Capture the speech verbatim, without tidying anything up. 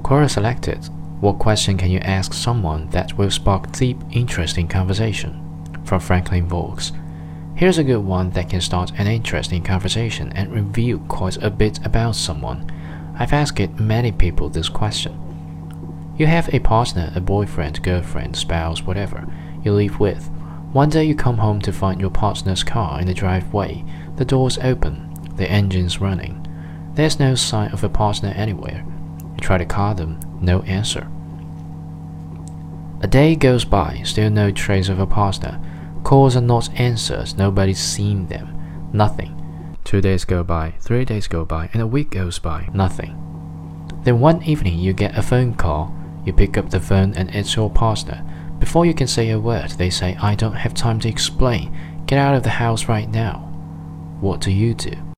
Quora selected. What question can you ask someone that will spark deep interest in conversation? From Franklin Vaux. Here's a good one that can start an interesting conversation and reveal quite a bit about someone. I've asked many people this question. You have a partner, a boyfriend, girlfriend, spouse, whatever, you live with. One day you come home to find your partner's car in the driveway, the doors open, the engine's running. There's no sign of a partner anywhere. You try to call them, no answer. A day goes by, still no trace of a partner. Calls are not answered, nobody's seen them. Nothing. Two days go by, three days go by, and a week goes by, nothing. Then one evening you get a phone call. You pick up the phone and it's your partner. Before you can say a word, they say, I don't have time to explain. Get out of the house right now. What do you do?